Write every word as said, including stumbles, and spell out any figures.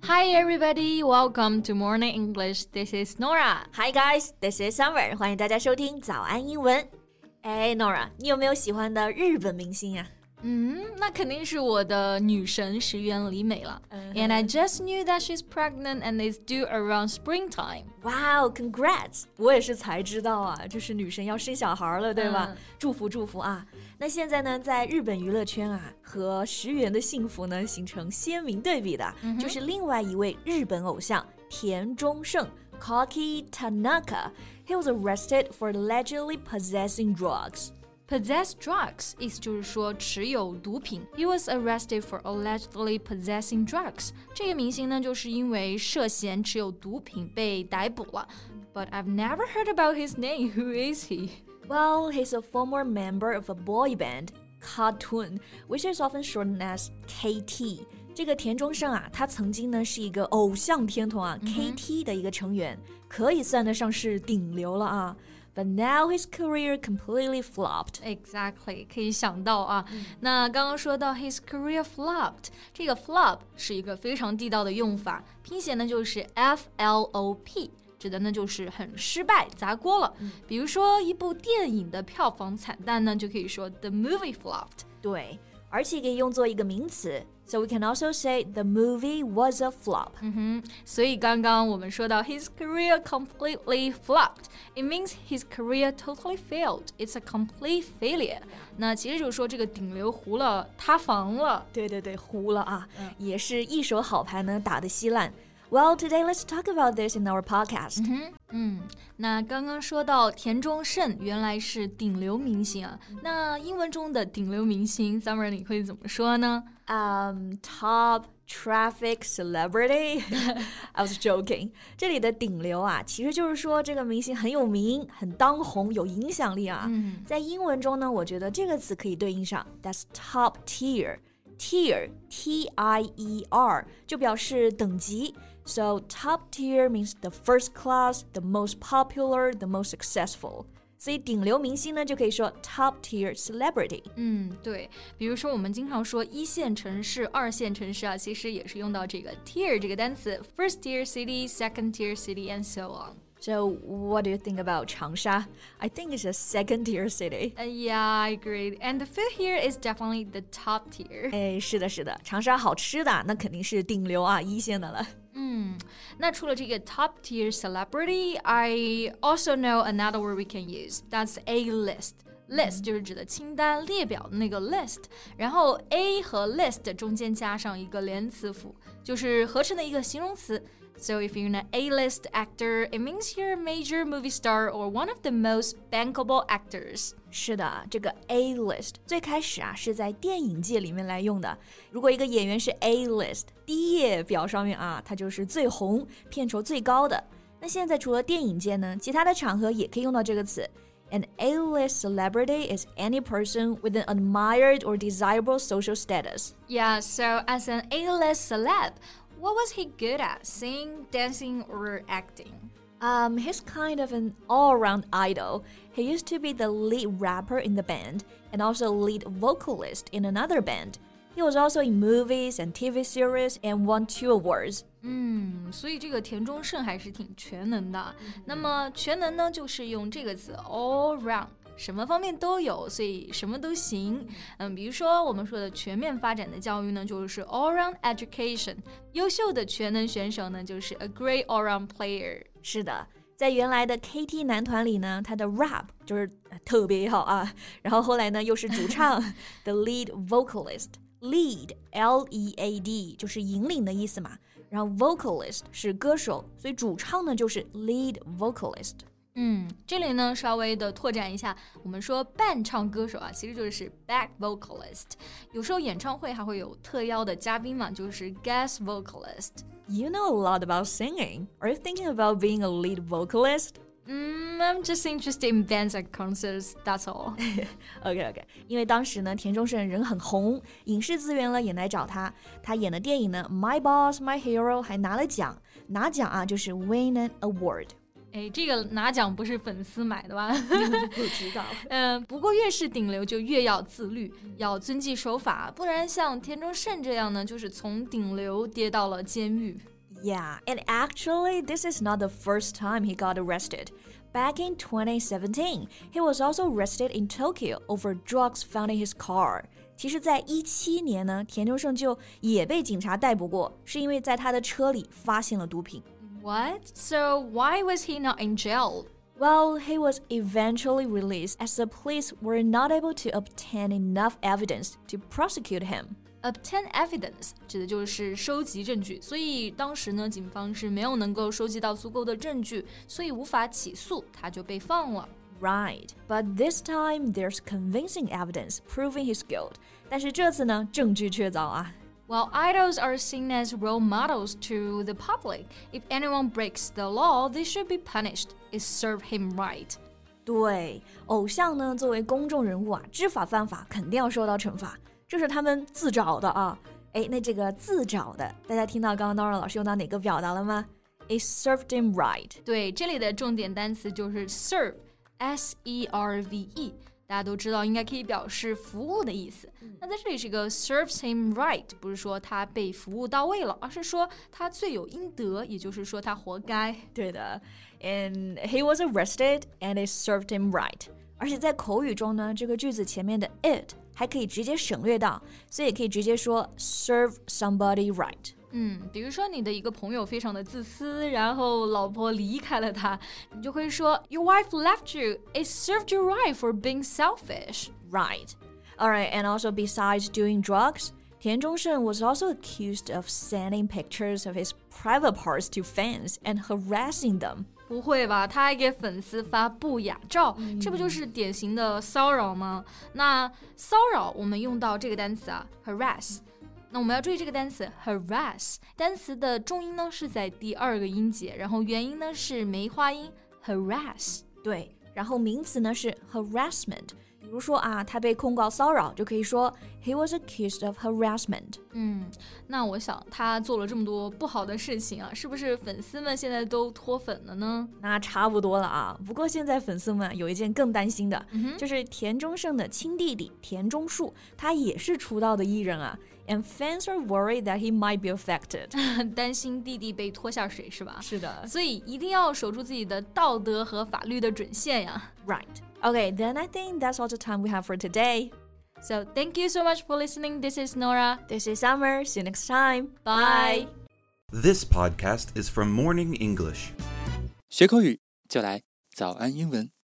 Hi everybody, welcome to Morning English. This is Nora. Hi guys, this is Summer. 欢迎大家收听早安英文。哎 Nora, 你有没有喜欢的日本明星呀？ 嗯，那肯定是我的女神石原里美了。Uh-huh. And I just knew that she's pregnant and is due around springtime. Wow, congrats! 我也是才知道啊，就是女神要生小孩了，对吧？嗯、祝福祝福啊！那现在呢，在日本娱乐圈啊，和石原的幸福呢形成鲜明对比的，嗯、就是另外一位日本偶像田中胜 Koki Tanaka. He was arrested for allegedly possessing drugs.Possess drugs 意思就是说持有毒品。He was arrested for allegedly possessing drugs. 这个明星呢，就是因为涉嫌持有毒品被逮捕了。But I've never heard about his name. Who is he? Well, he's a former member of a boy band, K T W N, which is often shortened as K T. 这个田中胜啊，他曾经呢是一个偶像天团啊、mm-hmm. K T 的一个成员，可以算得上是顶流了啊。But now his career completely flopped. Exactly, 可以想到啊。嗯、那刚刚说到 his career flopped, 这个 flop 是一个非常地道的用法，拼写呢就是 F L O P， 指的呢就是很失败、砸锅了。嗯、比如说一部电影的票房惨淡呢，就可以说 the movie flopped。 对，而且可以用作一个名词。So we can also say the movie was a flop. 嗯哼，所以刚刚我们说到 his career completely flopped. It means his career totally failed. It's a complete failure. 那其实就是说这个顶流糊了，塌房了。 对对对，糊了啊，嗯、也是一手好牌呢打得稀烂。Well, today let's talk about this in our podcast. 嗯, 嗯，那刚刚说到田中胜原来是顶流明星啊，那英文中的顶流明星 Summer 你会怎么说呢？ Um, top traffic celebrity. I was joking. 这里的顶流啊，其实就是说这个明星很有名，很当红，有影响力啊。嗯、在英文中呢，我觉得这个词可以对应上 That's top tier.Tier, T I E R, 就表示等级。So top tier means the first class, the most popular, the most successful. 所以顶流明星呢，就可以说 top tier celebrity. 嗯，对。比如说我们经常说一线城市、二线城市啊，其实也是用到这个 tier 这个单词 ，first tier city, second tier city, and so on.So what do you think about Changsha? I think it's a second-tier city. Uh, yeah, I agree. And the food here is definitely the top tier. 哎，是的，是的，长沙好吃的那肯定是顶流啊，一线的了。 嗯，那除了这个 top tier celebrity, I also know another word we can use. That's A-list.List 就是指的清单列表的那个 list， 然后 A 和 list 中间加上一个连词符，就是合成的一个形容词。So if you're an A-list actor, it means you're a major movie star or one of the most bankable actors. 是的，这个 A-list 最开始啊是在电影界里面来用的。如果一个演员是 A-list， 第一页表上面啊，他就是最红、片酬最高的。那现在除了电影界呢，其他的场合也可以用到这个词。An A-list celebrity is any person with an admired or desirable social status. Yeah, so as an A-list celeb,What was he good at? Singing, dancing, or acting? Um, he's kind of an all-around idol. He used to be the lead rapper in the band and also lead vocalist in another band. He was also in movies and T V series and won two awards. 嗯，所以这个田中胜还是挺全能的。嗯、那么全能呢，就是用这个词 all round。什么方面都有，所以什么都行。嗯，比如说我们说的全面发展的教育呢，就是 all-round education。优秀的全能选手呢，就是 a great all-round player。 是的，在原来的 K T 男团里呢，他的 rap 就是特别好啊。然后后来呢，又是主唱the lead vocalist。Lead, L E A D 就是引领的意思嘛。然后 vocalist 是歌手，所以主唱呢就是 lead vocalist。 嗯，这里呢稍微的拓展一下，我们说伴唱歌手啊，其实就是 back vocalist。有时候演唱会还会有特邀的嘉宾嘛，就是 guest vocalist。 You know a lot about singing. Are you thinking about being a lead vocalist? Mm, I'm just interested in bands and concerts, that's all. OK, OK. 因为当时呢，田中胜人很红，影视资源呢也来找他。他演的电影呢，《My Boss, My Hero》还拿了奖。拿奖啊，就是 win an award。 哎，这个拿奖不是粉丝买的吧？ 不知道。 嗯，不过越是顶流就越要自律，要遵纪守法，不然像田中胜这样呢，就是从顶流跌到了监狱。 Yeah, and actually, this is not the first time he got arrested. Back in twenty seventeen, he was also arrested in Tokyo over drugs found in his car. 其实在一七年呢，田中胜就也被警察逮捕过，是因为在他的车里发现了毒品。 What? So why was he not in jail? Well, he was eventually released as the police were not able to obtain enough evidence to prosecute him. Obtain evidence 指的就是收集证据，所以当时呢，警方是没有能够收集到足够的证据，所以无法起诉，他就被放了。 Right, but this time there's convincing evidence proving his guilt. 但是这次呢，证据确凿啊。 Well, idols are seen as role models to the public. If anyone breaks the law, they should be punished. It served him right. 对，偶像呢，作为公众人物啊，知法犯法，肯定要受到惩罚。这是他们自找的啊。哎，那这个自找的，大家听到刚刚 Nora 老师用到哪个表达了吗？ It served him right. 对，这里的重点单词就是 serve, S E R V E。大家都知道应该可以表示服务的意思。那在这里这个 serves him right 不是说他被服务到位了，而是说他罪有应得，也就是说他活该。 对的 ，and he was arrested and it served him right. 而且在口语中呢，这个句子前面的 it 还可以直接省略到，所以也可以直接说 serve somebody right。 嗯，比如说你的一个朋友非常的自私，然后老婆离开了他，你就会说 Your wife left you. It served you right for being selfish. Right. All right, and also besides doing drugs, 田中胜 was also accused of sending pictures of his private parts to fans and harassing them. 不会吧？他还给粉丝发不雅照，嗯、这不就是典型的骚扰吗？那骚扰我们用到这个单词啊 ，harass。那我们要注意这个单词 harass， 单词的重音呢是在第二个音节，然后元音呢是梅花音 harass。 对，然后名词呢是 harassment。比如说啊，他被控告骚扰，就可以说 he was accused of harassment。 嗯，那我想他做了这么多不好的事情啊，是不是粉丝们现在都脱粉了呢？ 那差不多了啊。不过现在粉丝们有一件更担心的，嗯、就是田中胜的亲弟弟田中树，他也是出道的艺人啊。And fans are worried that he might be affected. 担心弟弟被拖下水是吧？ 是的， 所以一定要守住自己的道德和法律的准线呀。 Right. Okay, then I think that's all the time we have for today. So thank you so much for listening. This is Nora. This is Summer. See you next time. Bye. This podcast is from Morning English. 学口语就来早安英文。